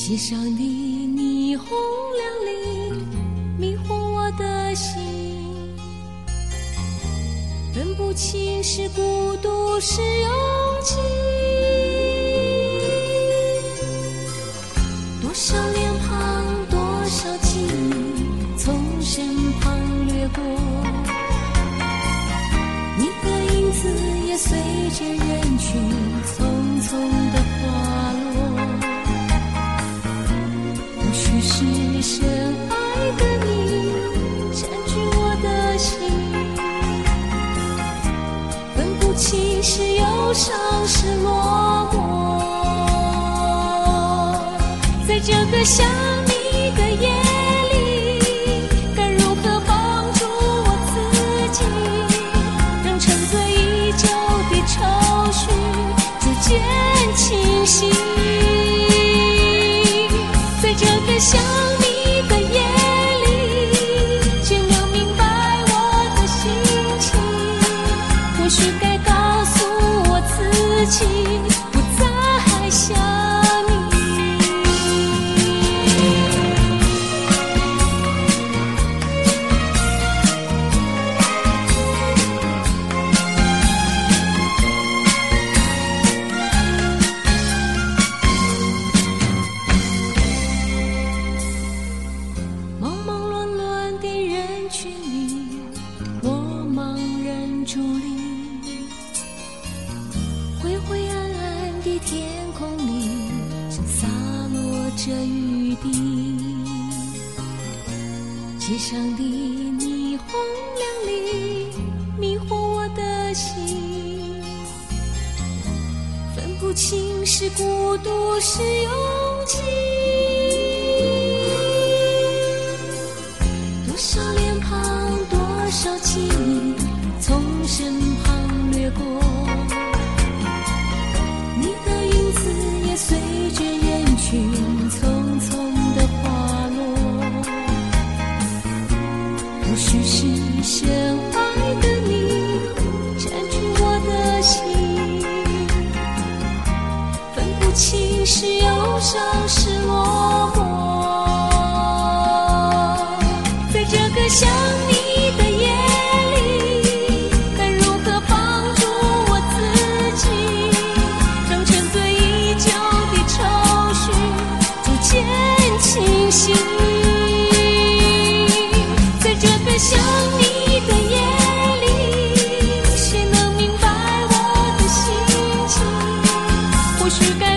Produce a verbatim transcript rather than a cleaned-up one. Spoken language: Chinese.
街上的霓虹亮丽，迷惑我的心，分不清是孤独是勇气。多少脸庞，多少记忆从身旁掠过，你的影子也随着人群匆匆地滑落。或许是深爱的你占据我的心，分不清是忧伤是落寞。在这个想你的夜里，该如何帮助我自己，让沉醉已久的愁绪逐渐清晰。在这个想你的夜里，却能明白我的心情，或许该告诉我自己，不再想你。忙忙乱乱的人群里，我茫然伫立，灰灰暗暗的天空里，正洒落着雨滴。街上的霓虹亮丽，迷惑我的心，分不清是孤独是勇气。多少脸庞，多少记忆从身旁掠过，你的影子也随着人群匆匆地滑落。或许是深爱的你占据我的心，分不清是忧伤是落寞。在这个想你的夜里，该如何帮助我自己，让沉醉已久的愁绪逐渐清晰。在这个想你的夜里，谁能明白我的心情，或许该